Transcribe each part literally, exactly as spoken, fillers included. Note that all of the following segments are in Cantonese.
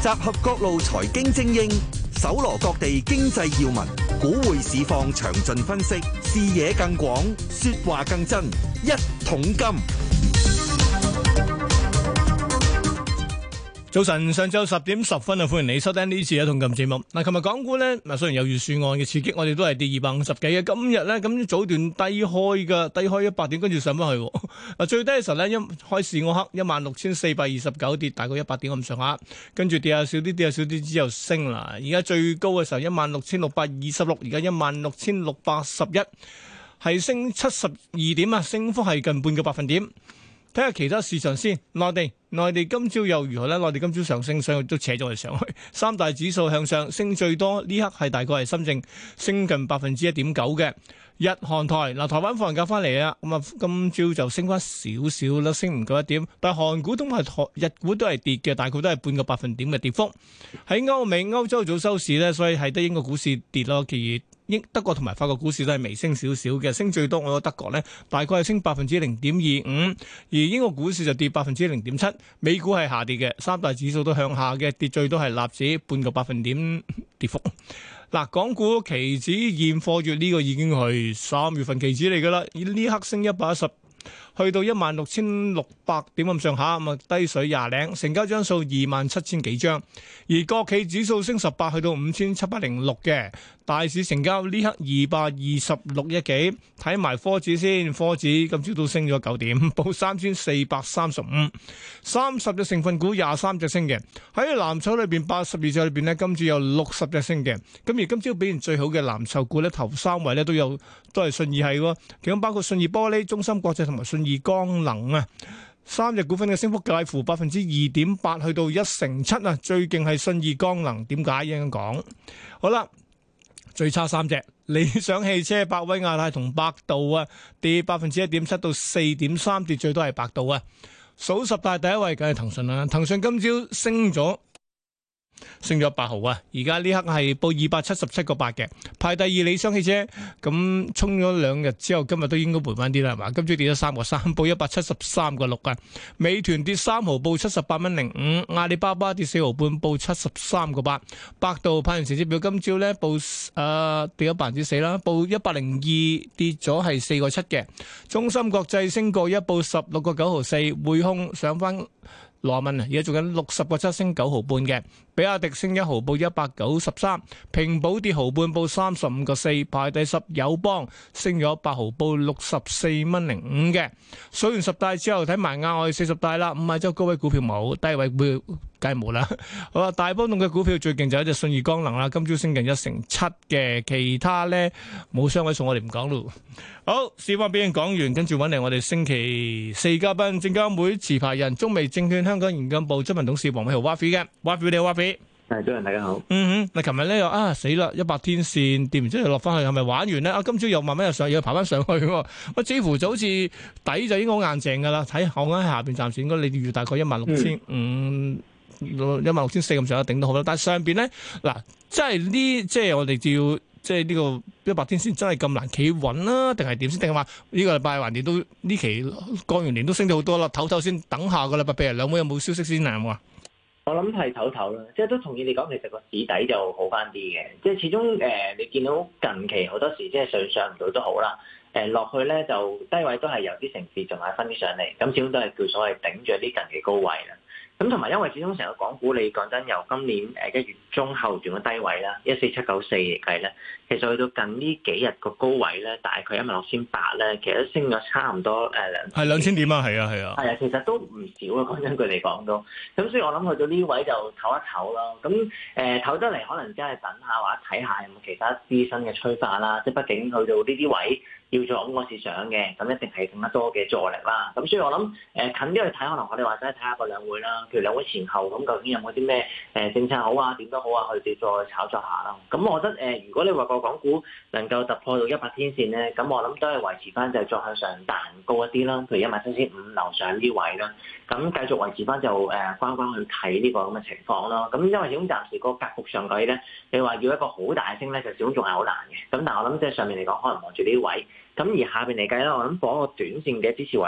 集合各路財經精英，搜羅各地經濟要聞，股匯市況詳盡分析，視野更廣，說話更真。一桶金。 早晨，上晝十點十分啊，歡迎你收聽呢次嘅一桶金節目。嗱，琴日港股咧，嗱雖然有預算案嘅刺激，我哋都係跌二百五十幾嘅。今日咧，咁早段低開嘅，低開一百點，跟住上翻去。嗱，最低嘅時候咧，一開市嗰刻一萬六千四百二十九，跌大概一百點咁上下，跟住跌下少啲，跌下少啲之後升啦。而家最高嘅時候一萬六千六百二十六，而家一萬六千六百十一，係升七十二點啊，升幅係近半個百分點。睇下其他市場先，內地內地今朝又如何呢？內地今朝上升，所以都扯咗佢上去。三大指數向上，升最多呢刻係大概係深證升近百分之一點九嘅。日韓台嗱，台灣放完假翻嚟啊，咁啊今朝就升翻少少啦，升唔夠一點。但係韓股同埋台日股都係跌嘅，大概都係半個百分點嘅跌幅。喺歐美歐洲早收市呢，所以係得英國股市跌咯，其餘英德國同埋法國股市都係微升少少嘅，升最多我覺得德國呢大概係升百分之零點二五，而英國股市就跌百分之零點七，美股係下跌嘅，三大指數都向下嘅，跌最多係納指半個百分點跌幅。嗱，港股期指現貨月呢個已經係三月份期指嚟噶啦，呢刻升一百一十。去到一萬六千六百點咁上下，咁啊低水廿零，成交張數二萬七千幾張，而國企指數升十八，去到五千七百零六嘅，大市成交呢刻二百二十六億幾，睇埋科指先，科指今朝都升咗九點，報三千四百三十五，三十隻成分股廿三隻升嘅，喺藍籌裏邊八十二隻裏邊呢，今朝有六十隻升嘅，咁而今朝表現最好嘅藍籌股呢，頭三位呢都有都係信義係喎，其中包括信義玻璃、中芯國際同埋信義光能啊，三隻股份嘅升幅介乎百分之二點八去到一成七啊，最勁係信義光能，點解應該講？好啦，最差三隻，理想汽車、百威亞太同百度啊，跌百分之一點七到四點三，跌最多係百度啊。數十大第一位梗係騰訊啦，騰訊今朝升咗。升咗八毫啊！而家呢刻係報二百七十七個八嘅，排第二理想汽車，咁衝咗兩日之後，今日都應該回翻啲啦，係嘛？今朝跌咗三個三，報一百七十三個六啊！美團跌三毫，報七十八蚊零五；阿里巴巴跌四毫半，報七十三個八；百度派完成績表，今朝咧報誒、呃、跌咗百分之四啦，報一百零二，跌咗係四個七嘅。中芯國際升過一，報十六個九毫四；匯控上翻羅文啊，而家做緊六十個七，升九毫半嘅。比亞迪升一毫，報一百九十三；平保跌毫半，報三十五個四，排第十。友邦升咗八毫，報六十四蚊零五嘅。數完十大之後，睇埋額外四十大啦。五十周高位股票冇，低位股票梗係冇啦。好啦，大波動嘅股票最勁就係一隻信義光能啦，今朝升近一成七嘅，其他咧冇雙位數，我哋唔講咯。好，市況表現講完，跟住揾嚟我哋星期四嘉賓，證監會持牌人中微證券香港研究部執行董事黃偉豪 Wafi 嘅 Wafi，你好 Wafi。 係，早晨，大家好。 嗯哼，嗱，琴日咧又啊死啦，一百天線跌完之後落翻去，係咪玩完咧？啊，今朝又慢慢又上，又爬翻上去喎。喂，似乎就好似底就應該好硬淨噶啦。睇我啱喺下邊暫時應該你預大概一萬六千五、一萬六千四咁上下頂到好啦。但係上邊咧嗱，即係呢，即係我哋要即係呢個一百天線真係咁難企穩啦，定係點先？定係話呢個禮拜橫掂都呢期過完年都升咗好多啦，唞唞先，等下個禮拜譬如兩會有冇消息先啊？有冇啊？ 我諗係唞唞啦，即係都同意你講，其實個市底就好翻啲嘅。即係始終誒、呃，你見到近期好多時即係上上唔到都好啦，誒、呃、落去咧就低位都係有啲城市仲係分啲上嚟，咁始終都係叫所謂頂住啲近期高位啦。咁同埋因為始終成個港股，你講真由今年誒一月中後段嘅低位啦，一四七九四嚟計咧，其實去到近呢幾日個高位咧，大概一萬六千八咧，其實都升咗差唔多誒兩係兩千點啊，係啊係啊， 係啊，其實都唔少啊，講真句嚟講都，咁所以我諗去到呢位就唞一唞咯。咁誒唞得嚟，可能真係等下或者睇下有冇其他資深嘅催化啦。即係畢竟去到呢啲位要做咁個市場嘅，咁一定係更加多嘅助力啦。咁所以我諗誒、呃、近啲去睇，可能我哋或者睇下個兩會啦。譬如兩會前後咁，究竟有冇啲咩誒政策好啊？點都好啊，去再炒作下啦。咁我覺得誒、呃，如果你話個港股能夠突破到一百天線咧，咁我諗都係維持翻就係再向上彈高一啲啦。譬如一萬七千五樓上呢位啦，咁繼續維持翻就誒關關去睇呢個咁嘅情況咯。咁因為始終暫時個格局上計咧，你話要一個好大升咧，就始終仲係好難嘅。咁但係我諗即係上面嚟講，可能望住呢位。咁而下邊嚟計咧，我諗嗰個短線嘅支持位咧，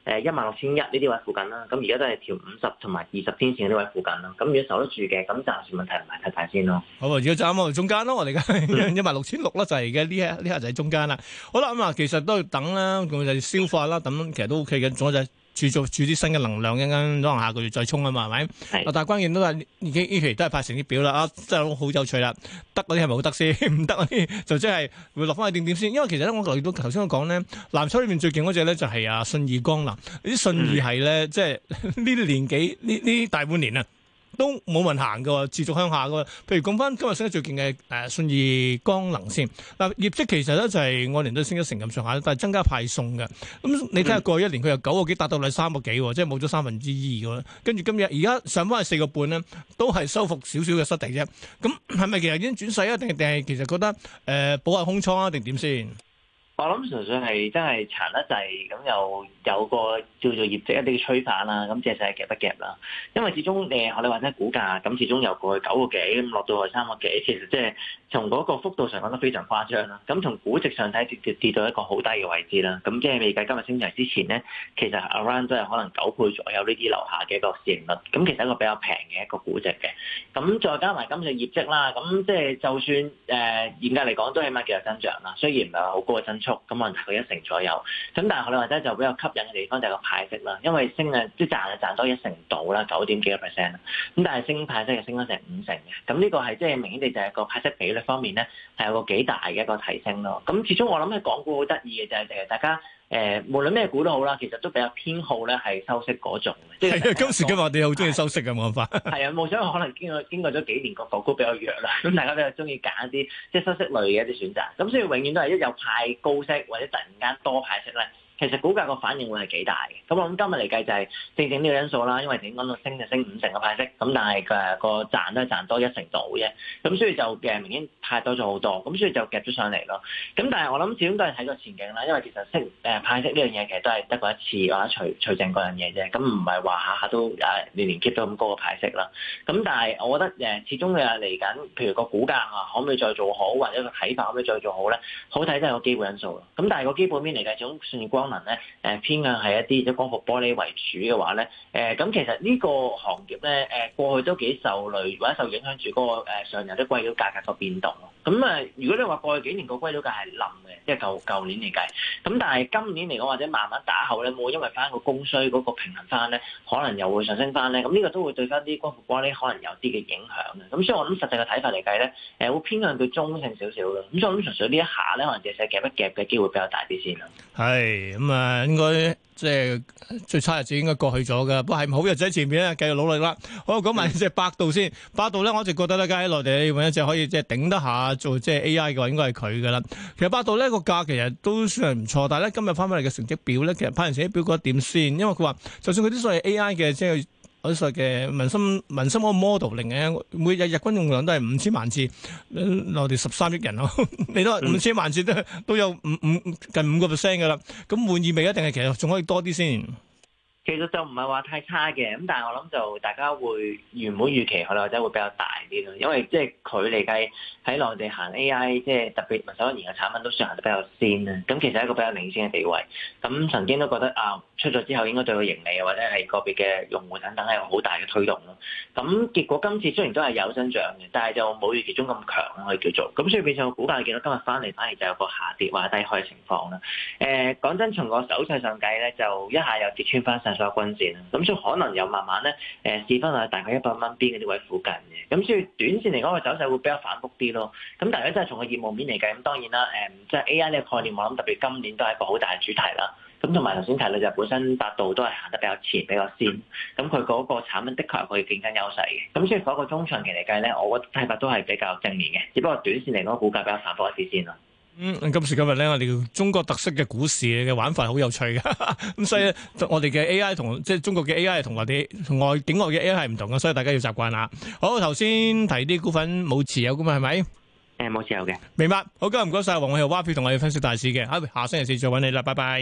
誒一萬六千一呢啲位附近啦。咁而家都係條五十同埋二十天線呢位附近啦。咁如果守得住嘅，咁暫時問題唔係太大先咯。 好啊，而家就啱啱中間咯，我哋而家一萬六千六啦，就係而家呢一呢下就喺中間啦。好啦，咁啊，其實都要等啦，咁就消化啦，等其實都 OK 嘅，仲有就係注做注啲新嘅能量，一陣間可能下個月再衝啊嘛，係咪？係。但係關鍵都係呢期呢期都係派成績表啦，啊，真係好有趣啦。得嗰啲係咪好得先？唔得嗰啲就即係會落翻去點點先。因為其實咧，我留意到頭先我講咧，藍籌裏面最勁嗰隻咧就係啊信義光能。呢啲信義係咧，即係呢啲年紀呢呢大半年啊。都冇問行嘅，持續向下嘅。譬如講翻今日升得最勁嘅誒信義光能先嗱，業績其實咧就係按年都升一成咁上下，但係增加派送嘅。咁你睇下過去一年佢由九個幾達到嚟三個幾，即係冇咗三分之二嘅。跟住今日而家上翻去四個半咧，都係收復少少嘅失地啫。咁係咪其實已經轉勢啊？定定係其實覺得誒、呃、補下空倉啊？定點先？ 我諗純粹係真係殘得滯，咁又有個叫做業績一啲嘅催化啦，咁借勢夾一夾啦。因為始終誒學你話齋股價，咁始終由過去九個幾咁落到去三個幾，其實即係從嗰個幅度上講得非常誇張啦。咁從估值上睇跌跌跌到一個好低嘅位置啦。咁即係未計今日升上之前咧，其實 around 都係可能九倍左右呢啲樓下嘅一個市盈率。咁其實一個比較平嘅一個估值嘅。咁再加埋今次業績啦，咁即係就算誒嚴格嚟講都起碼叫有增長啦。雖然唔係話好高嘅增速。咁可能大概一成左右，咁但係我哋或者就比較吸引嘅地方就係個派息啦，因為升啊即係賺啊賺多一成度啦，九點幾個 percent 啦，咁但係升派息係升咗成五成嘅，咁呢個係即係明顯地就係個派息比率方面咧係有個幾大嘅一個提升咯。咁始終我諗喺港股好得意嘅就係誒大家。誒、呃，無論咩股都好啦，其實都比較偏好咧係收息嗰種嘅。即係今時今日我哋好中意收息嘅冇辦法。係啊，冇想可能經過經過咗幾年個港股比較弱啦，咁大家比較中意揀一啲即係收息類嘅一啲選擇。咁所以永遠都係一有派高息或者突然間多派息咧。其實股價個反應會係幾大嘅，咁我諗今日嚟計就係正正呢個因素啦，因為點講到升就升五成嘅派息，咁但係誒個賺都係賺多一成度啫，咁所以就嘅明顯派多咗好多，咁所以就夾咗上嚟咯。咁但係我諗始終都係睇個前景啦，因為其實息誒派息呢樣嘢其實都係得過一次或者除除淨嗰樣嘢啫，咁唔係話下下都誒年年 keep 到咁高嘅派息啦。咁但係我覺得誒始終誒嚟緊，譬如個股價啊可唔可以再做好，或者個睇法可唔可以再做好咧？好睇都係個基本因素咯。咁但係個基本面嚟計，始終信義光能咧，誒偏向係一啲即係光伏玻璃為主嘅話咧，誒咁其實呢個行業咧，誒過去都幾受累或者受影響住嗰個誒上游啲硅料價格個變動咯。咁啊，如果你話過去幾年個硅料價係冧嘅，即係舊舊年嚟計，咁但係今年嚟講或者慢慢打後咧，冇因為翻個供需嗰個平衡翻咧，可能又會上升翻咧。咁呢個都會對翻啲光伏玻璃可能有啲嘅影響嘅。咁所以我諗實際嘅睇法嚟計咧，誒會偏向佢中性少少咯。咁所以我諗純粹呢一下咧，可能借勢夾一夾嘅機會比較大啲先啦。 係咁啊，應該即係最差日子應該過去咗噶，不過係好日子喺前面咧，繼續努力啦。好，講埋隻百度先，百度咧，我一直覺得咧，喺內地要揾一隻可以即係頂得下做即係 A I 嘅話，應該係佢噶啦。其實百度呢個價其實都算係唔錯，但係咧今日翻返嚟嘅成績表咧，其實派完成績表覺得點先？因為佢話就算佢啲所謂 A I 嘅即係。嗰啲嘅民心民心嗰個 modeling 嘅，每日日均用量都係五千萬次，內地十三億人咯，你都五千萬次都都有五五近五個 percent 㗎啦，咁滿意未？一定係其實仲可以多啲先。 其實就唔係話太差嘅，咁但係我諗就大家會原本預期可能或者會比較大啲咯，因為即係佢嚟計喺內地行 A I，即係特別民手一言嘅產品都算行得比較先啦。咁其實係一個比較領先嘅地位。咁曾經都覺得啊，出咗之後應該對佢盈利或者係個別嘅用戶等等係有好大嘅推動咯。咁結果今次雖然都係有增長嘅，但係就冇預期中咁強可以叫做。咁所以變相股價見到今日翻嚟反而就有個下跌或者低開嘅情況啦。誒、呃、講真，從個手勢上計咧，就一下又跌穿翻上所有均線啦。咁所以可能又慢慢咧誒試翻喺大概一百蚊邊嗰啲位附近嘅。咁所以短線嚟講個走勢會比較反覆啲咯。咁但係咧真係從個業務面嚟計，咁當然啦誒，即係 A I 呢個概念，我諗特別今年都係一個好大嘅主題啦。咁同埋頭先提到就本身百度都係行得比較前比較先，咁佢嗰個產品的確係佢競爭優勢嘅。咁所以嗰個中長期嚟計咧，我覺得睇法都係比較正面嘅。只不過短線嚟講，股價比較反覆一啲先咯。 嗯，今時今日咧，我哋中國特色嘅股市嘅玩法係好有趣嘅。咁所以我哋嘅 A I 同即係中國嘅 A I 同內地同外境外嘅 A I 係唔同嘅，所以大家要習慣下。好，頭先提啲股份冇持有㗎嘛，係咪？ 誒，冇持有嘅。 明白。好，今日唔該晒黃偉豪蛙票同我哋分析大市嘅。下星期四再揾你啦，拜拜。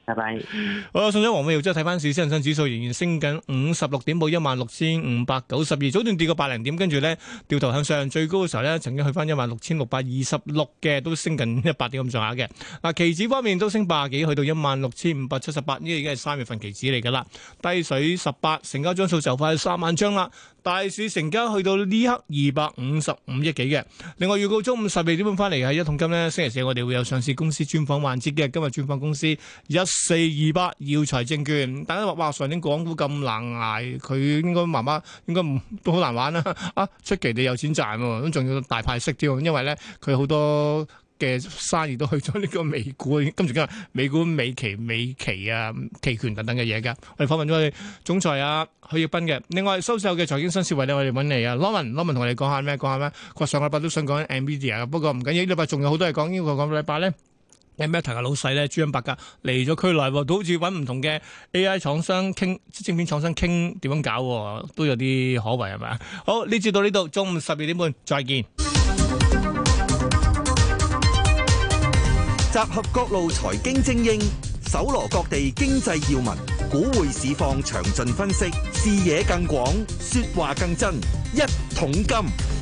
拜拜。 好啦，送咗黃美耀之後睇翻市，恒生指數仍然升緊五十六點，報一萬六千五百九十二，早段跌過百零點，跟住咧掉頭向上，最高嘅時候咧曾經去翻一萬六千六百二十六嘅，都升近一百點咁上下嘅。嗱，期指方面都升百幾，去到一萬六千五百七十八，呢個已經係三月份期指嚟噶啦，低水十八，成交張數就快三萬張啦。大市成交去到呢刻二百五十五億幾嘅。另外預告中午十二點半翻嚟嘅一桶金呢，星期四我哋會有上市公司專訪環節嘅。今日專訪公司一四二八耀才證券，大家話哇上年港股咁難捱，佢應該媽媽應該唔都好難玩啦啊！出奇地有錢賺喎，咁仲要大派息添，因為咧佢好多嘅生意都去咗呢個美股，今時今日美股美期、美期啊、期權等等嘅嘢㗎。我哋訪問咗佢總裁啊許繹彬嘅。另外收售嘅財經新思維咧，我哋揾嚟啊 Norman，Norman 同我哋講下咩？講下咩？佢話上個禮拜都想講 Nvidia， 不過唔緊要，呢禮拜仲有好多嘢講。呢個個禮拜咧 ，Meta 嘅老細咧朱恩伯格嚟咗區內，都好似揾唔同嘅 A I 廠商傾，晶片廠商傾點樣搞，都有啲可為係咪？好，呢節到呢度，中午十二點半再見。 集合各路財經精英，搜羅各地經濟要聞，股匯市況詳盡分析，視野更廣，說話更真。一桶金，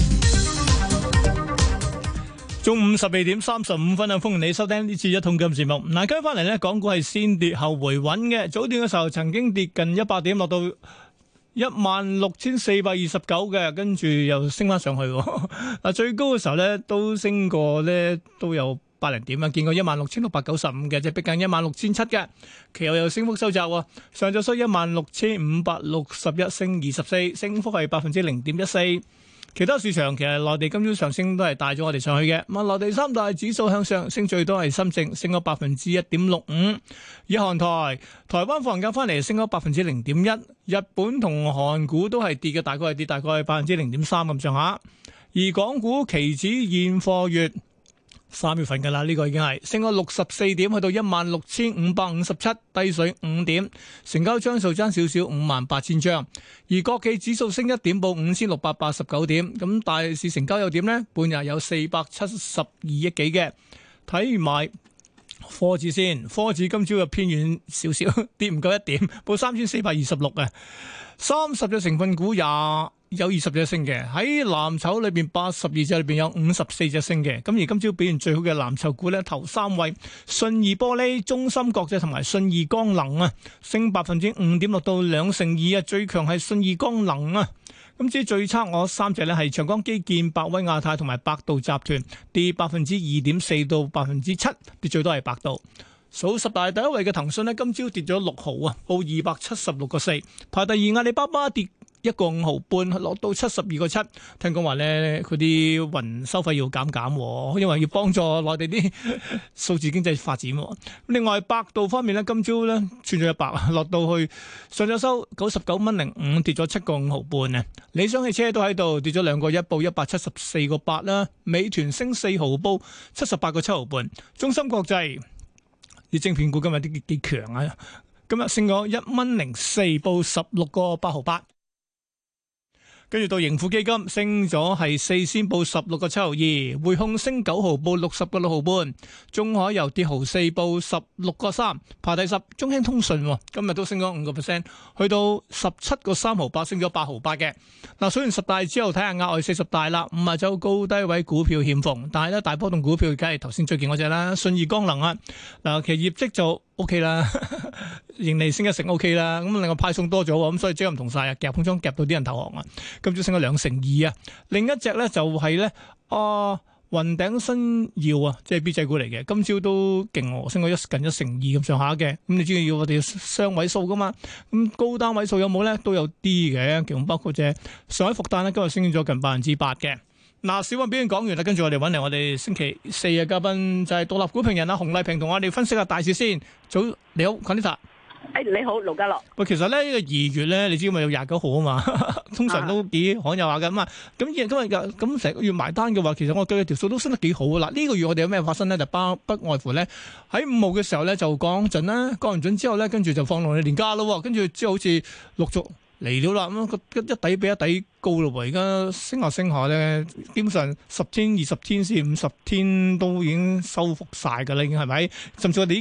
中午十二點三十五分啊！歡迎你收聽呢次一桶金節目。嗱，跟翻嚟呢，港股係先跌後回穩嘅，早段嘅時候曾經跌近一百點，落到一萬六千四百二十九嘅，跟住又升翻上去。嗱，最高嘅時候呢，都升過呢，都有百零點啊，見過一萬六千六百九十五嘅，即係逼近一萬六千七嘅，其後又升幅收窄喎。上晝收一萬六千五百六十一，升二十四，升幅係百分之零點一四。其他市場其實內地今朝上升都係帶咗我哋上去嘅。咁啊，內地三大指數向上，升最多係深證，升咗百分之一點六五。以韓台，台灣放假翻嚟升咗百分之零點一。日本同韓股都係跌嘅，大概係跌大概係百分之零點三咁上下。而港股期指現貨月三月份㗎啦，呢、這個已經係升咗六十四點，去到一萬六千五百五十七，低水五點，成交張數爭少少五萬八千張。而國企指數升一點，報五千六百八十九點。咁大市成交又點呢？半日有四百七十二億幾嘅。睇埋科指先，科指今朝又偏軟少少，跌唔夠一點，報三千四百二十六啊。三十隻成分股廿。有二十隻升嘅，喺藍籌裏邊八十二隻裏邊有五十四隻升嘅。咁而今朝表現最好嘅藍籌股咧，頭三位信義玻璃、中芯國際同埋信義光能啊，升百分之五點六到兩成二啊。最強係信義光能啊。咁至於最差我三隻咧係長江基建、百威亞太同埋百度集團，跌百分之二點四到百分之七，跌最多係百度。數十大第一位嘅騰訊咧，今朝跌咗六毫啊，報二百七十六個四。排第二阿里巴巴跌一個五毫半，落到七十二個七。聽講話咧，佢啲雲收費要減減，因為要幫助內地啲數字經濟發展。另外，百度方面咧，今朝咧穿咗一百，落到去上晝收九十九蚊零五，跌咗七個五毫半啊。理想汽車都喺度跌咗兩個一，報一百七十四個八啦。美團升四毫，報七十八個七毫半。中芯國際啲晶片股今日啲幾強啊！今日升咗一蚊零四，報十六個八毫八。跟住到盈富基金升咗係四仙，報十六個七毫二。匯控升九毫，報六十個六毫半。中海油跌毫四，報十六個三。排第十。中興通訊今日都升咗五個 percent，去到十七個三毫八，升咗八毫八嘅。嗱，數完十大之後，睇下額外四十大啦。五十周高低位股票欠奉，但係咧大波動股票梗係頭先最勁嗰隻啦，信義光能啊。嗱，其實業績就 O K 啦，盈利升一成 O K 啦。咁另外派送多咗，咁所以即係唔同晒啊，夾空倉夾到啲人投降啊。今朝升咗兩成二啊。另一隻咧就係、是、咧啊雲頂新耀啊，即係 B 仔股嚟嘅，今朝都勁喎，升咗一近一成二咁上下嘅。咁你知要我哋雙位數噶嘛？咁高單位數有冇咧？都有啲嘅，其中包括隻上海復旦咧，今日升咗近百分之八嘅。嗱，小溫表現講完啦，跟住我哋揾嚟我哋星期四嘅嘉賓就係獨立股評人啊洪麗萍，同我哋分析下大市先。早，你好 Conita。 誒，你好，盧家樂。 喂，其實咧呢、這個二月咧，你知咪有廿九號啊嘛，通常都幾罕有下嘅嘛。咁今日咁成個月埋單嘅話，其實我對條數都升得幾好啊。嗱，呢個月我哋有咩發生咧？就包不外乎咧喺五號嘅時候咧就降準啦，降完準之後咧，跟住就放落去年假咯。跟住之後好似陸續嚟了啦，咁一底比一底高咯喎。而家升下升下咧，基本上十天、二十天至五十天都已經收復晒㗎啦，已經係咪？甚至我哋呢期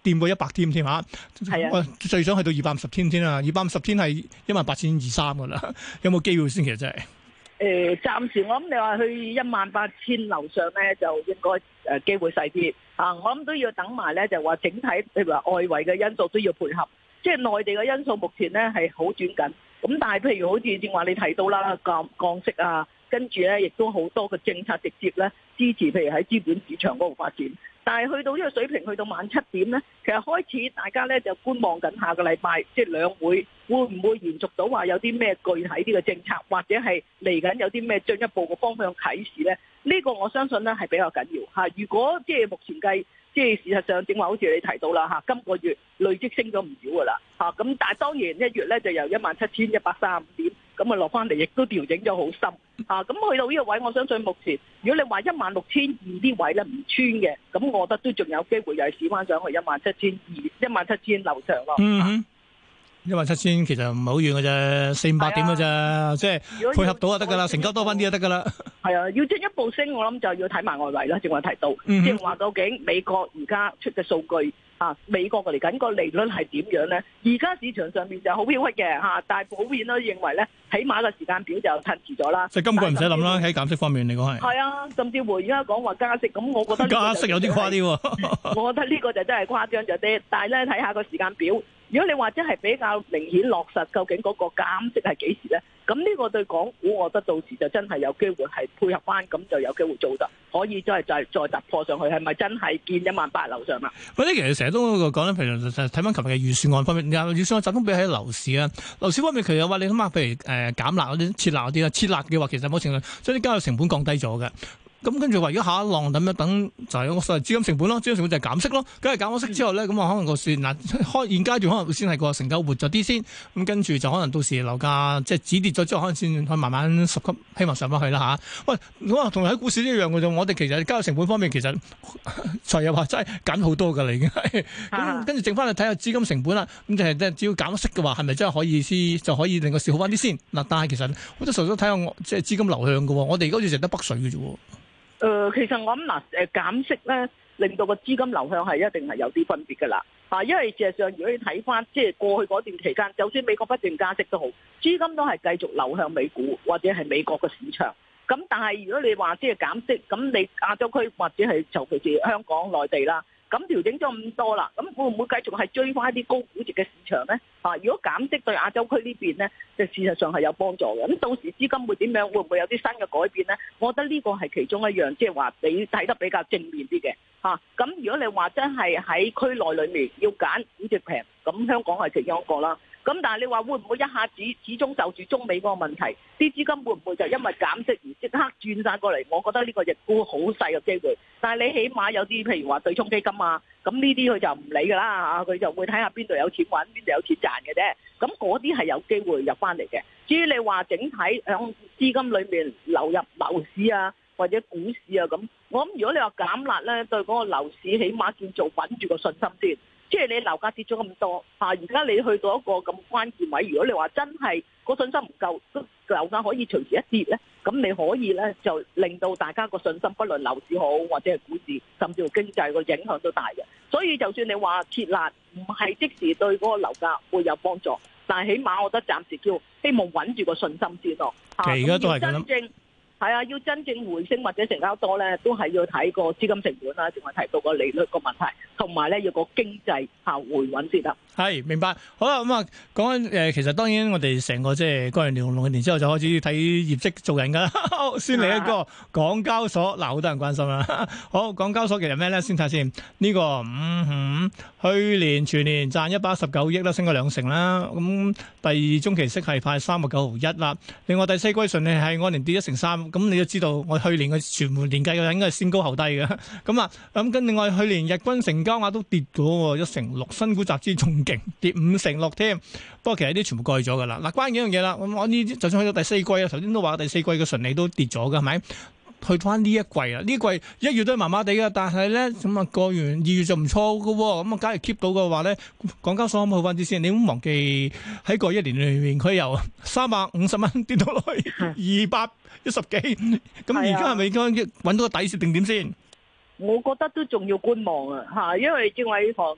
掂過一百天添嚇。 係啊， 我最想去到二百五十天先啦，二百五十天係一萬八千二三噶啦，有冇機會先？其實真係。 誒、呃，暫時我諗你話去一萬八千樓上咧，就應該誒、呃、機會細啲啊！我諗都要等埋咧，就話整體譬如話外圍嘅因素都要配合，即係內地嘅因素目前咧係好轉緊。咁但係譬如好似正話你提到啦，降降息啊，跟住咧亦都好多嘅政策直接咧支持，譬如喺資本市場嗰度發展。但係去到呢個水平，去到晚七點咧，其實開始大家咧就觀望緊下個禮拜，即係兩會會唔會延續到話有啲咩具體啲嘅政策，或者係嚟緊有啲咩進一步嘅方向啟示咧？呢、這個我相信咧係比較緊要嚇。如果即係目前計，即係事實上正話好似你提到啦嚇，今個月累積升咗唔少噶啦嚇。咁但係當然一月咧就由一萬七千一百三十五點咁啊落翻嚟，亦都調整咗好深。啊，咁去到呢個位，我相信目前如果你話一萬六千二啲位咧唔穿嘅，咁我覺得都仲有機會又係試翻上去一萬七千二、一萬七千樓上咯。 嗯哼，一萬七千其實唔係好遠嘅啫，四五百點嘅啫，啊、即係配合到就得噶啦，成交多翻啲就得噶啦。係啊，要進一步升，我諗就要睇埋外圍啦。正話提到， 嗯、 即係話究竟美國而家出嘅數據。啊！美國嚟緊個利率係點樣咧？而家市場上面就好飄忽嘅嚇，但係普遍都認為咧，起碼個時間表就褪遲咗啦。 即係今個唔使諗啦，喺減息方面嚟講係。係啊，甚至乎而家講話加息，咁我覺得加息有啲誇啲喎。 我覺得呢個就真係誇張咗啲，但係咧睇下個時間表。如果你話真係比較明顯落實，究竟嗰個減息係幾時咧？咁呢個對港股，我覺得到時就真係有機會係配合翻，咁就有機會做得可以真係再再突破上去，係咪真係見一萬八樓上啊？ 或者其實成日都講咧，譬如睇翻琴日嘅預算案方面，預算案集中比喺樓市啊，樓市方面其實話你諗下，譬如誒、呃、減辣嗰啲、撤辣嗰啲啦，撤辣嘅話其實某程度將啲交易成本降低咗嘅。咁跟住話，如果下一浪咁樣等，就係有個所謂資金成本咯，資金成本就係減息咯。咁係減咗息之後咧，咁啊可能個市嗱開現階段可能會先係個成交活咗啲先，咁跟住就可能到時樓價即係止跌咗之後，可能先可以慢慢十級希望上翻去啦吓。喂，我話同喺股市一樣嘅啫，我哋其實交易成本方面其實財又話真係減好多㗎啦，已經係。咁跟住剩翻去睇下資金成本啦。咁就係即係只要減息嘅話，係咪真係可以先就可以令個市好翻啲先？嗱，但係其實好多時候都睇下即係資金流向嘅喎。我哋而家好似淨得北水嘅啫喎。 誒、呃，其實我諗嗱，誒減息咧，令到個資金流向係一定係有啲分別㗎啦。啊，因為事實上，如果你睇翻即係過去嗰段期間，就算美國不斷加息都好，資金都係繼續流向美股或者係美國嘅市場。咁但係如果你話即係減息，咁你亞洲區或者係尤其是香港、內地啦。咁調整咗咁多啦，咁會唔會繼續係追翻啲高估值嘅市場咧？啊，如果減息對亞洲區呢邊咧，就事實上係有幫助嘅。咁到時資金會點樣？會唔會有啲新嘅改變咧？我覺得呢個係其中一樣，即係話你睇得比較正面啲嘅嚇。咁如果你話真係喺區內裏面要揀估值平，咁香港係其中一個啦。咁但係你話會唔會一下子始終就住中美嗰個問題，啲資金會唔會就因為減息而即刻轉晒過嚟？我覺得呢個亦都好細嘅機會。但係你起碼有啲譬如話對沖基金啊，咁呢啲佢就唔理㗎啦嚇，佢就會睇下邊度有錢揾，邊度有錢賺嘅啫。咁嗰啲係有機會入翻嚟嘅。至於你話整體響資金裏面流入樓市啊，或者股市啊咁，我諗如果你話減辣咧，對嗰個樓市起碼叫做穩住個信心先。即係你樓價跌咗咁多嚇，而家你去到一個咁關鍵位，如果你話真係個信心唔夠，樓價可以隨時一跌咧，咁你可以咧就令到大家個信心，不論樓市好或者係股市，甚至乎經濟個影響都大嘅。所以就算你話撤辣唔係即時對嗰個樓價會有幫助，但係起碼我覺得暫時叫希望穩住個信心先咯。 其實而家都係咁諗。 係啊，要真正回升或者成交多咧，都係要睇個資金成本啦，仲係提到個利率個問題，同埋咧要個經濟下回穩先得。 係明白，好啦，咁啊講緊誒，其實當然我哋成個即係過完年龍年之後就開始睇業績做人噶啦。先嚟一個港交所，嗱好多人關心啦。好，港交所其實咩咧？先睇先呢個嗯哼，去年全年賺一百一十九億啦，升咗兩成啦。咁第二中期息係派三個九毫一啦。另外第四季順利係按年跌一成三。咁你都知道，我去年嘅全年計嘅應該係先高後低嘅。咁啊，咁跟另外去年日均成交額都跌咗一成六，新股集資仲勁，跌五成六添。不過其實啲全部過去咗噶啦。嗱，關鍵一樣嘢啦，咁我呢啲就算去到第四季啊，頭先都話第四季嘅純利都跌咗嘅，係咪？去翻呢一季啊，呢季一月都係麻麻地嘅，但係咧咁啊過完二月就唔錯嘅喎。咁啊，假如 keep 到嘅話咧，港交所可唔可以好翻啲先？你唔好忘記喺過一年裏面，佢由三百五十蚊跌到落去二百一十幾，咁而家係咪應該揾到個底線定點先？ 我覺得都仲要觀望啊，嚇，因為正話講到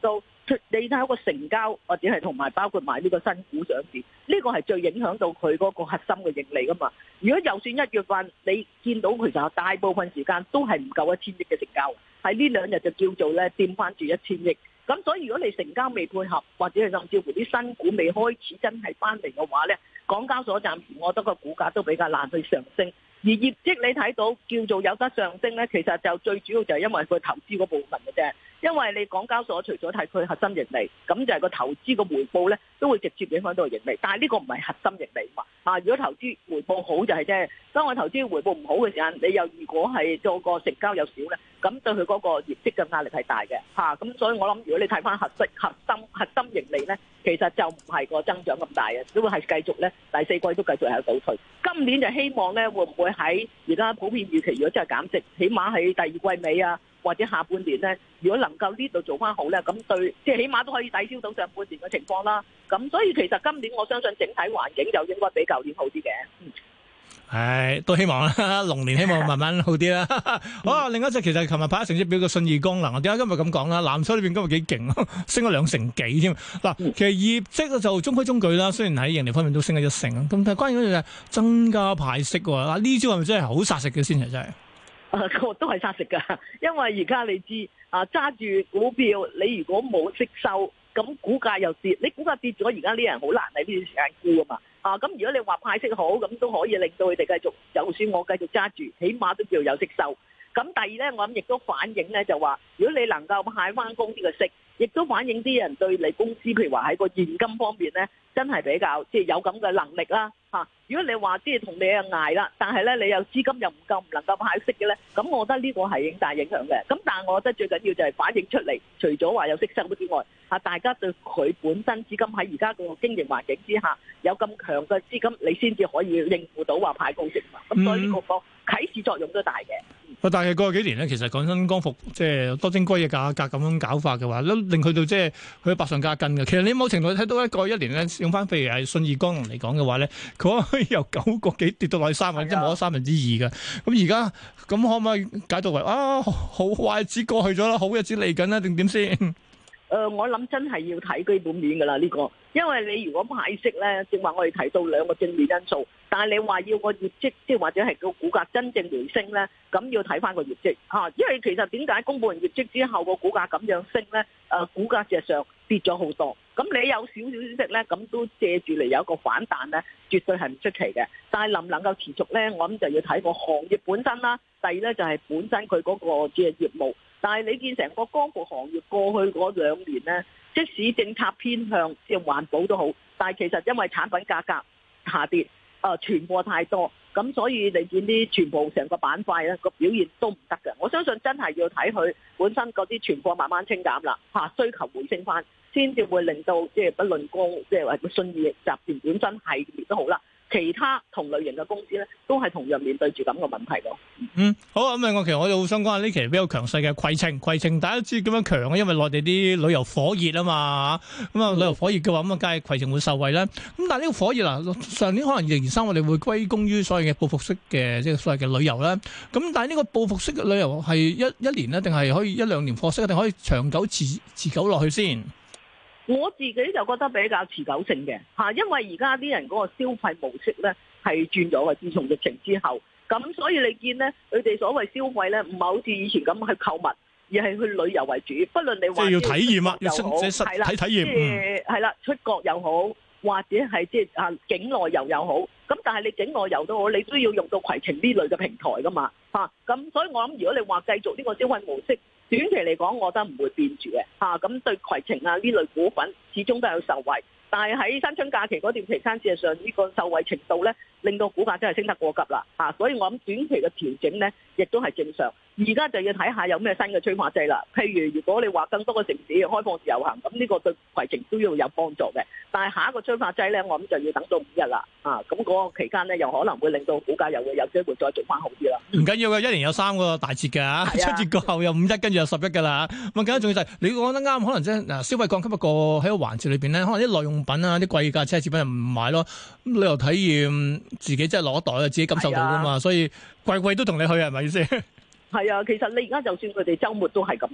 你睇下個成交或者係同埋包括埋呢個新股上市，呢個係最影響到佢嗰個核心嘅盈利噶嘛。如果就算一月份你見到其實大部分時間都係唔夠一千億嘅成交，喺呢兩日就叫做咧掂翻住一千億。咁所以如果你成交未配合，或者係甚至乎啲新股未開始真係翻嚟嘅話咧，港交所暫時我覺得個股價都比較難去上升。而業績你睇到叫做有得上升咧，其實就最主要就係因為佢投資嗰部分嘅啫。因為你港交所除咗睇佢核心盈利，咁就係個投資個回報咧，都會直接影響到盈利。但係呢個唔係核心盈利嘛。啊，如果投資回報好就係啫。當我投資回報唔好嘅時間，你又如果係做個成交又少咧，咁對佢嗰個業績嘅壓力係大嘅嚇。咁、啊、所以我諗，如果你睇翻核心核心核心盈利咧，其實就唔係個增長咁大嘅，都會係繼續咧第四季都繼續係倒退。今年就希望咧會唔會喺而家普遍預期，如果真係減息，起碼喺第二季尾啊，或者下半年咧，如果能夠呢度做翻好咧，咁對即係起碼都可以抵消到上半年嘅情況啦。咁所以其實今年我相信整體環境就應該比舊年好啲嘅。嗯係都希望啦，龍年希望慢慢好啲啦。好啊，另一隻其實琴日派成績表嘅信義光能，我點解今日咁講啦？藍籌裏邊今日幾勁，升咗兩成幾添。嗱，其實業績就中規中矩啦，雖然喺盈利方面都升咗一成啊。咁但係關鍵嗰樣嘢增加派息喎。啊，呢招係咪真係好殺食嘅先係真係？ 啊，個都係殺食㗎，因為而家你知啊，揸住股票，你如果冇息收，咁股價又跌，你股價跌咗，而家啲人好難喺呢段時間沽啊嘛。啊，咁如果你話派息好，咁都可以令到佢哋繼續，就算我繼續揸住，起碼都叫有息收。咁第二咧，我諗亦都反映咧，就話如果你能夠派翻公司嘅息，亦都反映啲人對你公司，譬如話喺個現金方面咧，真係比較即係有咁嘅能力啦。嚇，如果你話即係同你啊捱啦，但係咧你又資金又唔夠，唔能夠派息嘅咧，咁我覺得呢個係影大影響嘅。咁但係我覺得最緊要就係反映出嚟，除咗話有息收之外，嚇大家對佢本身資金喺而家個經營環境之下有咁強嘅資金，你先至可以應付到話派高息嘛。咁所以呢個個啟示作用都大嘅。 但係過去幾年咧，其實講真，光伏即係多晶硅嘅價格咁樣搞法嘅話，都令佢到即係佢百上加斤嘅。其實你某程度睇到一個一年咧，用翻譬如係信義光能嚟講嘅話咧，佢可以由九個幾跌到落去三分，即係冇咗三分之二嘅。咁而家咁可唔可以解讀為啊好壞日子過去咗啦，好日子嚟緊啦，定點先？誒、 呃，我諗真係要睇基本面㗎啦呢個，因為你如果派息咧，正話我哋提到兩個正面因素，但係你話要個業績，即係或者係個股價真正回升咧，咁要睇翻個業績嚇、啊。因為其實點解公佈完業績之後個股價咁樣升咧？誒、呃，股價事實上跌咗好多，咁你有少少消息咧，咁都借住嚟有一個反彈咧，絕對係唔出奇嘅。但係能唔能夠持續咧，我諗就要睇個行業本身啦。第二咧就係本身佢嗰個即係業務。但係你見成個光伏行業過去嗰兩年咧，即使政策偏向即係環保都好，但係其實因為產品價格下跌，誒、呃、存貨太多，咁所以你見啲全部成個板塊咧個表現都唔得嘅。我相信真係要睇佢本身嗰啲存貨慢慢清減啦，嚇、啊、需求回升翻，先至會令到即係不論光即係話信義集團本身系列都好啦。其他同類型嘅公司咧，都係同樣面對住咁嘅問題咯。 嗯，好啊，咁啊，我其實我就好想講下呢期比較強勢嘅攜程，攜程大家知點樣強啊？因為內地啲旅遊火熱啊嘛，咁啊旅遊火熱嘅話，咁啊梗係攜程會受惠啦。咁但係呢個火熱啊，上年可能二零二三我哋會歸功於所謂嘅報復式嘅即係所謂嘅旅遊啦。咁但係呢個報復式嘅旅遊係一一年咧，定係可以一兩年貨色，定可以長久持持久落去先？ 我自己就覺得比較持久性嘅嚇，因為而家啲人嗰個消費模式咧係轉咗嘅，自從疫情之後，咁所以你見咧佢哋所謂消費咧唔係好似以前咁去購物，而係去旅遊為主。不論你話即係要體驗啊， 要實體體驗， 即係係啦，出國又好，或者係即係啊境內遊又好。咁但係你境內遊都好，你都要用到攜程呢類嘅平台噶嘛嚇。咁所以我諗，如果你話繼續呢個消費模式，短期嚟講，我覺得唔會變住嘅嚇，咁、啊、對攜程啊呢類股份始終都有受惠，但係喺新春假期嗰段期間，事實上呢個受惠程度咧，令到股價真係升得過急啦嚇，所以我諗短期嘅調整咧，亦都係正常。而家就要睇下有咩新嘅催化劑啦，譬如如果你話更多嘅城市開放自由行，咁呢個對攜程都要有幫助嘅。但係下一個催化劑咧，我諗就要等到五日啦啊，咁嗰個期間咧，又可能會令到股價又會有機會再做翻好啲啦。 唔緊要嘅，一年有三個大節㗎，春節過後有五一，跟住有十一㗎啦。咁啊，更加重要就係你講得啱，可能即係嗱消費降級一個喺個環節裏邊咧，可能啲耐用品啊、啲貴價奢侈品又唔買咯。咁旅遊體驗自己真係攞袋啊，自己感受到㗎嘛，所以貴貴都同你去係咪先？ 係啊，其實你而家就算佢哋週末都係咁噶，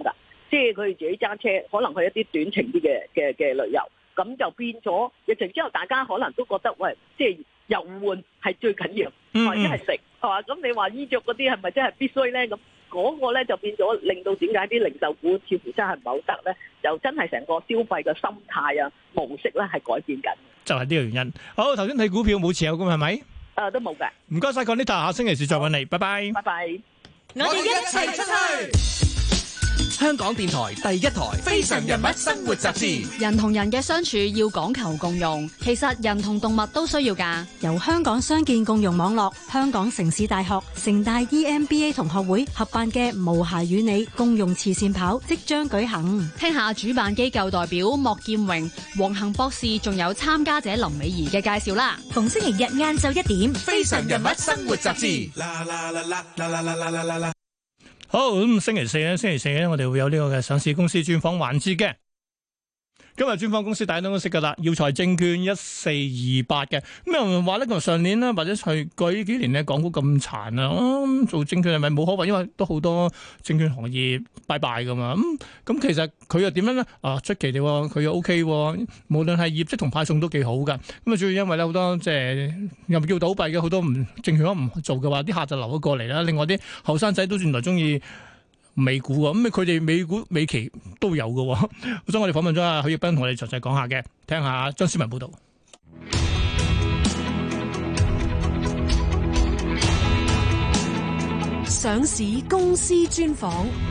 即係佢哋自己揸車，可能去一啲短程啲嘅嘅嘅旅遊，咁就變咗疫情之後，大家可能都覺得喂，即係遊玩係最緊要，或者係食係嘛？咁你話衣着嗰啲係咪真係必須咧？咁嗰個咧就變咗令到點解啲零售股似乎真係唔係好得咧？就真係成個消費嘅心態啊模式咧係改變緊， 就係呢個原因。好，頭先睇股票冇持有咁係咪？誒、 呃，都冇嘅。 唔該晒，Conita，下星期四再揾你，拜拜。 拜拜。 我哋一齊出去。香港電台第一台《非常人物生活雜誌》。 人同人嘅相處要講求共融，其實人同動物都需要㗎。 由香港傷健共融網絡、香港城市大學、城大 E M B A 同學會合辦嘅無鞋與你共融慈善跑即將舉行。 聽下主辦機構代表莫劍榮、黃恒博士，仲有參加者林美儀嘅介紹啦。 逢星期日晏晝一點，《 非常人物生活雜誌》。 好，咁星期四咧，星期四咧，我哋會有呢個嘅上市公司專訪環節嘅。今日專訪公司大家都識噶啦，耀才證券一四二八嘅。咁有人話咧，佢上年咧，或者係過呢幾年咧，港股咁殘啊，嗯、做證券係咪冇可為？因為都好多證券行業拜拜噶嘛。咁、嗯、咁其實佢又點樣咧？啊，出奇地，佢又 O K，無論係業績同派送都幾好噶。咁啊，主要因為咧好多即係又唔叫倒閉嘅，好多唔證券都唔做嘅話，啲客就流咗過嚟啦。另外啲後生仔都原來中意美股啊，咁佢哋美股美期都有嘅，所以我哋訪問咗阿許繹彬同我哋詳細講下嘅，聽下張思文報道。 上市公司專訪。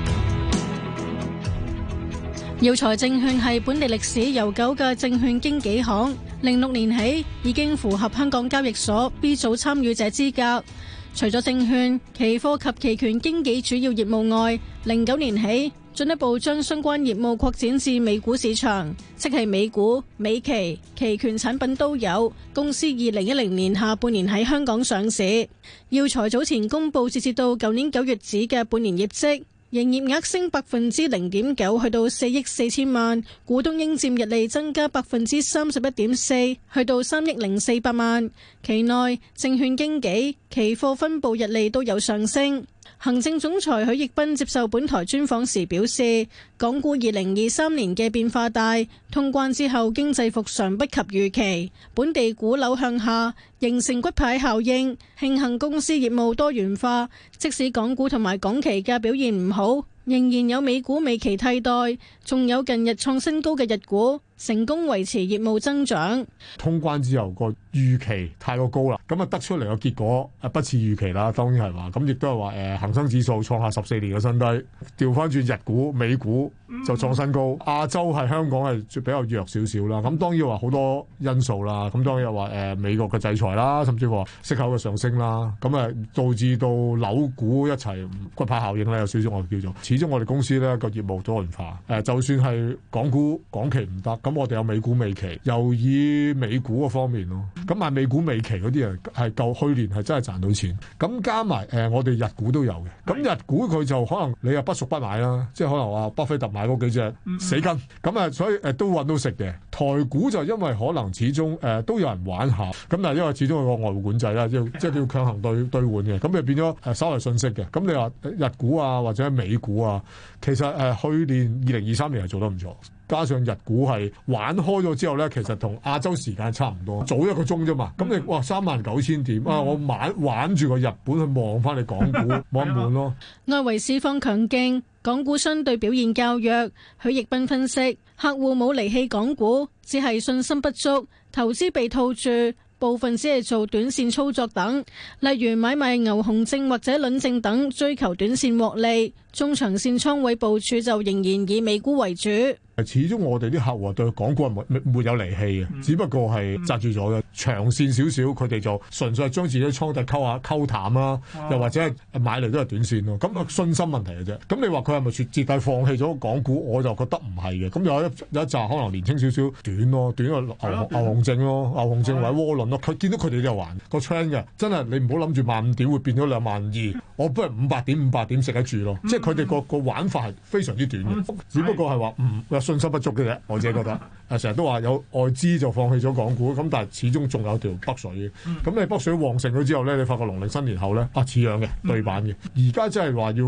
耀才證券係本地歷史悠久嘅證券經紀行，零六年起已經符合香港交易所 B 組參與者資格。除咗證券、期貨及期權經紀主要業務外，零九年起進一步將相關業務擴展至美股市場，即係美股、美期、期權產品都有。公司二零一零年下半年喺香港上市。耀才早前公布截至到舊年九月止嘅半年業績，營業額升百分之零點九，去到四億四千萬；股東應佔溢利增加百分之三十一點四，去到三億零四百萬。期內證券經紀、期貨分部溢利都有上升。行政總裁許繹彬接受本台專訪時表示，港股二零二三年嘅變化大，通關之後經濟復常不及預期，本地股樓向下，形成骨牌效應。慶幸公司業務多元化，即使港股同埋港期嘅表現唔好，仍然有美股美期替代，仲有近日創新高嘅日股，成功維持業務增長。 通關之後個預期太過高啦，咁啊得出嚟個結果啊不似預期啦，當然係話，咁亦都係話誒恒生指數創下十四年嘅新低，調翻轉日股、美股就創新高，亞洲係香港係比較弱少少啦。咁當然話好多因素啦，咁當然話誒美國嘅制裁啦，甚至乎息口嘅上升啦，咁啊導致到樓股一齊骨牌效應咧，有少少我哋叫做。始終我哋公司咧個業務多元化，誒就算係港股港期唔得，咁我哋有美股美期，又以美股嗰方面咯。咁買美股美期嗰啲人係夠去年係真係賺到錢，咁加埋誒、呃、我哋日股都有嘅。咁日股佢就可能你又不熟不買啦，即係可能話巴菲特買嗰幾隻死根，咁啊所以誒、呃、都揾到食嘅。台股就因為可能始終誒、呃、都有人玩下，咁但係因為始終有個外匯管制啦，即係即係叫強行兌兌換嘅，咁就變咗誒稍為遜色嘅。咁你話日股啊或者美股啊，其實誒、呃、去年二零二三年係做得唔錯。加上日股係玩開咗之後咧，其實同亞洲時間差唔多，早一個鐘啫嘛。咁你哇三萬九千點啊！我玩玩住個日本去望翻你港股，望一望咯。 外圍市況強勁，港股相對表現較弱。許繹彬分析，客戶冇離棄港股，只係信心不足，投資被套住。部分只係做短線操作等，例如買賣牛熊證或者輪證等，追求短線獲利。中長線倉位部署就仍然以美股為主。 始終我哋啲客戶對港股係沒沒有離棄嘅，嗯、只不過係紮住咗嘅。長線少少，佢哋就純粹係將自己倉底溝下溝淡啦，啊、又或者係買嚟都係短線咯。咁信心問題嘅啫。咁你話佢係咪徹徹底放棄咗港股？我就覺得唔係嘅。咁有一有一紮可能年輕少少短咯，短個牛牛熊證咯，牛熊證或者窩輪咯。佢見到佢哋都有玩個 trend 嘅，真係你唔好諗住萬五點會變咗兩萬二，我不如五百點五百點食得住咯。嗯、即係佢哋個個玩法係非常之短嘅，嗯、只不過係話唔信心不足嘅啫。我自己覺得，誒成日都話有外資就放棄咗港股，咁但係始終仲有條北水嘅。咁、嗯、你北水旺盛咗之後咧，你發覺農曆新年後咧啊似樣嘅對版嘅。而家真係話要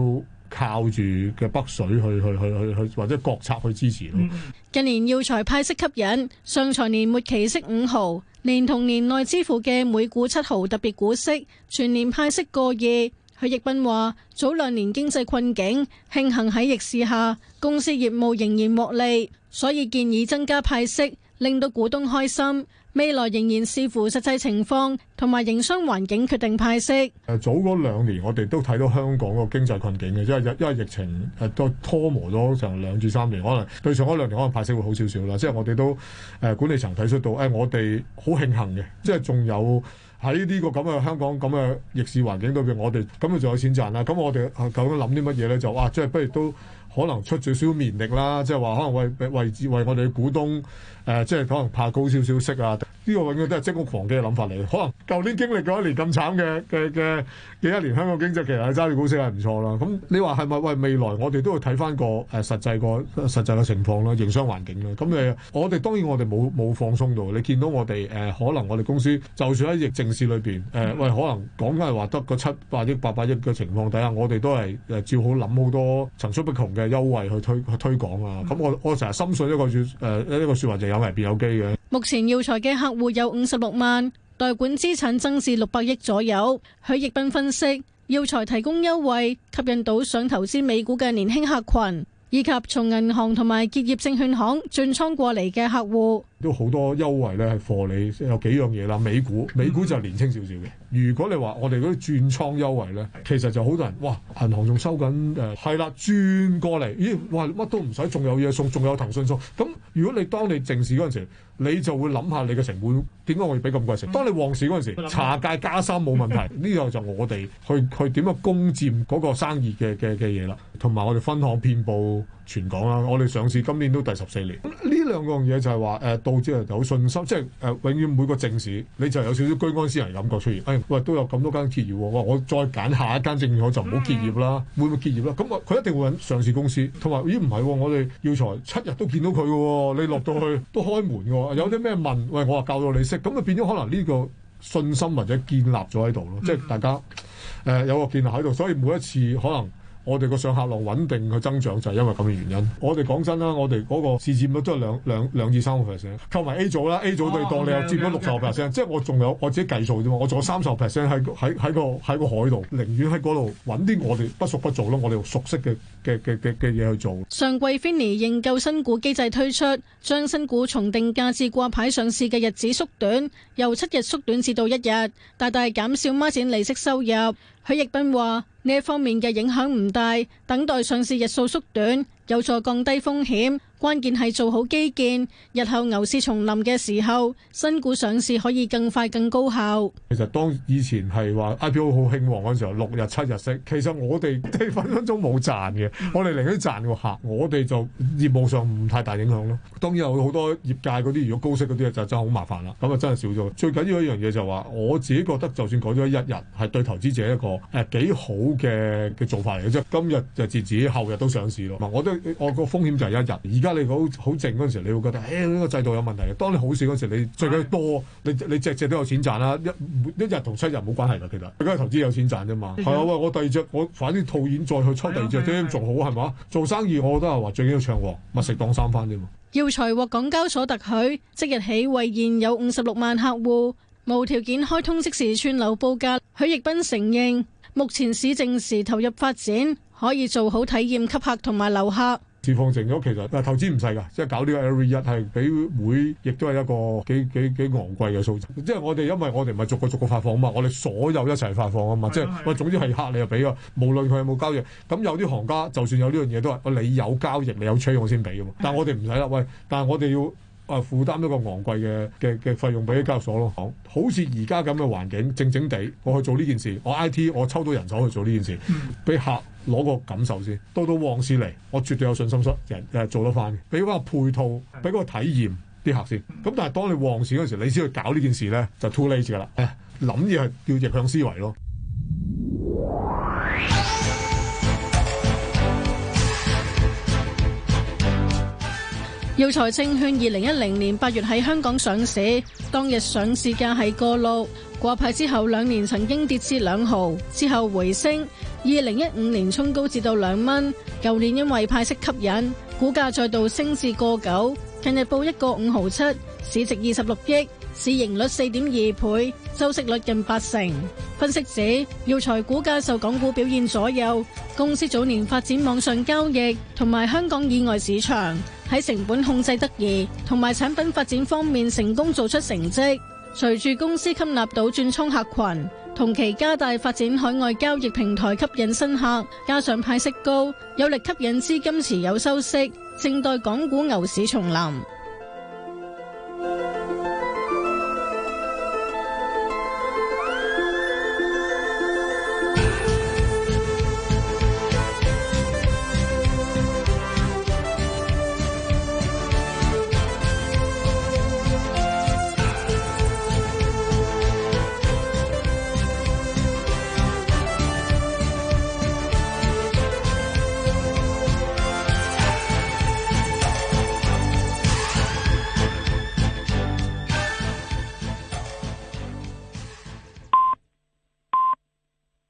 靠住嘅北水去去去去去或者國策去支持咯。 近年藥材派息吸引，上財年末期息五毫，連同年內支付嘅每股七毫特別股息，全年派息個二。許繹彬話：早兩年經濟困境，慶幸喺逆市下，公司業務仍然獲利，所以建議增加派息，令到股東開心。未來仍然視乎實際情況同埋營商環境決定派息。 誒早嗰兩年我哋都睇到香港個經濟困境嘅，因為因為疫情誒都拖磨咗成兩至三年，可能對上嗰兩年可能派息會好少少啦。即係我哋都誒、呃、管理層睇出到，誒、哎、我哋好慶幸嘅，即係仲有喺呢個咁嘅香港咁嘅逆市環境裏邊，我哋咁啊仲有錢賺啦。咁我哋究竟諗啲乜嘢咧？就哇，即係不如都可能出少少綿力啦，即係話可能為為為為我哋嘅股東。誒、呃，即係可能怕高少少息啊！呢、這個永遠都係積屋防饑嘅諗法嚟。可能舊年經歷過一年咁慘嘅嘅嘅嘅一年，香港經濟其實揸住股息係唔錯啦。咁你話係咪喂未來我哋都要睇翻個誒實際個實際嘅情況啦，營商環境啦。咁誒，我哋當然我哋冇冇放鬆到。你見到我哋誒、呃，可能我哋公司就算喺疫症市裏邊誒，喂、呃，可能講緊係話得個七百億、八百億嘅情況底下，我哋都係誒照好諗好多層出不窮嘅優惠去推去推廣啊。咁我我成日深信一個説誒一個説話就有危變有機嘅。 目前藥材嘅客戶有五十六萬，代管資產增至六百億左右。許繹彬分析，藥材提供優惠，吸引到想投資美股嘅年輕客群，以及從銀行同埋結業證券行轉倉過嚟嘅客戶。 都好多優惠咧，係貨你有幾樣嘢啦。美股美股就年輕少少嘅。如果你話我哋嗰啲轉倉優惠咧，其實就好多人哇，銀行仲收緊誒，係啦，轉過嚟，咦，哇，乜都唔使，仲有嘢送，仲有騰訊送。咁如果你當你靜市嗰陣時，你就會諗下你嘅成本點解我要俾咁貴食？當你旺市嗰陣時，茶價加三冇問題。呢個就我哋去去點樣攻佔嗰個生意嘅嘅嘅嘢啦。同埋我哋分行遍佈全港啦。我哋上市今年都第十四年。呢兩樣嘢就係話誒，導致人有信心，即係誒、呃、永遠每個正市你就有少少居安思危感覺出現。誒、哎、喂，都有咁多間結業喎，我再揀下一間證券行就唔好結業啦，會唔會結業啦？咁佢一定會揾上市公司，同埋咦唔係喎，我哋藥材七日都見到佢嘅喎，你落到去都開門嘅喎，有啲咩問？喂，我話教到你識，咁就變咗可能呢個信心或者建立咗喺度咯，即係大家誒、呃、有個建立喺度，所以每一次可能。我哋個上客量穩定去增長就係因為咁嘅原因。我哋講真啦，我哋嗰個市佔率都係兩兩兩至三個 percent， 扣埋 A 組啦 ，A 組對當你又佔咗六十個 percent，即係我仲有我自己計數啫嘛，我仲有三十個 percent 喺喺喺個喺個海度，寧願喺嗰度揾啲我哋不熟不做咯，我哋熟悉嘅嘅嘅嘅嘅嘢去做。 上季 Finny 認購新股機制推出，將新股從定價至掛牌上市嘅日子縮短，由七日縮短至到一日，大大減少孖展利息收入。許繹彬話：呢一方面嘅影響唔大，等待上市日數縮短，有助降低風險。關鍵係做好基建，日後牛市重臨嘅時候，新股上市可以更快更高效。 其實當以前係話 I P O 好興旺嗰陣時候，六日七日息，其實我哋即係分分鐘冇賺嘅，我哋寧願賺個客，我哋就業務上唔太大影響咯。當然有好多業界嗰啲，如果高息嗰啲就真係好麻煩啦，咁啊真係少咗。最緊要一樣嘢就係話，我自己覺得就算改咗一日，係對投資者一個誒幾好嘅嘅做法嚟嘅啫。今日就截止，後日都上市咯。我都我個風險就係一日。而家你好好靜嗰陣時，你會覺得誒呢個制度有問題。當你好市嗰陣時，你最緊要多，你你隻隻都有錢賺啦。一一日同七日冇關係㗎，其實最緊係投資有錢賺啫嘛。係啊，喂，我第二隻我反啲套現再去抽第二隻，點樣做好係嘛？做生意我覺得係話最緊要暢旺，密食當三番啫嘛。 藥材獲港交所特許，即日起為現有五十六萬客戶無條件開通即時串流報價。許繹彬承認，目前市靜時投入發展，可以做好體驗吸客同埋留客。 市況靜咗，其實投資唔細㗎，即係搞呢個 L V 一係比會，亦都係一個幾幾幾昂貴嘅數字。即係我哋因為我哋唔係逐個逐個發放啊嘛，我哋所有一齊發放啊嘛。即係喂，總之係客你就俾啊，無論佢有冇交易。咁有啲行家就算有呢樣嘢都係，你有交易你有 trade 我先俾㗎嘛。但係我哋唔使啦，喂，但係我哋要。啊！負擔一個昂貴嘅嘅嘅費用俾交易所咯，好似而家咁嘅環境，靜靜地我去做呢件事，我 I T 我抽到人手去做呢件事，俾客攞個感受先。到到旺市嚟，我絕對有信心出人誒做得翻嘅，俾嗰個配套，俾嗰個體驗啲客先。咁但係當你旺市嗰陣時，你先去搞呢件事咧，就 too late 㗎啦。誒諗嘢係叫逆向思維咯。 耀才證券二零一零年八月喺香港上市，當日上市價係個六，掛牌之後兩年曾經跌至兩毫，之後回升，二零一五年衝高至到兩蚊，舊年因為派息吸引，股價再度升至個九，近日報一個五毫七，市值二十六億，市盈率四點二倍，周息率近八成。分析指耀才股價受港股表現左右，公司早年發展網上交易同埋香港以外市場，喺成本控制得宜同埋產品發展方面成功做出成績。隨住公司吸納到轉倉客群，同期加大發展海外交易平台吸引新客，加上派息高，有力吸引資金持有收息，正待港股牛市重臨。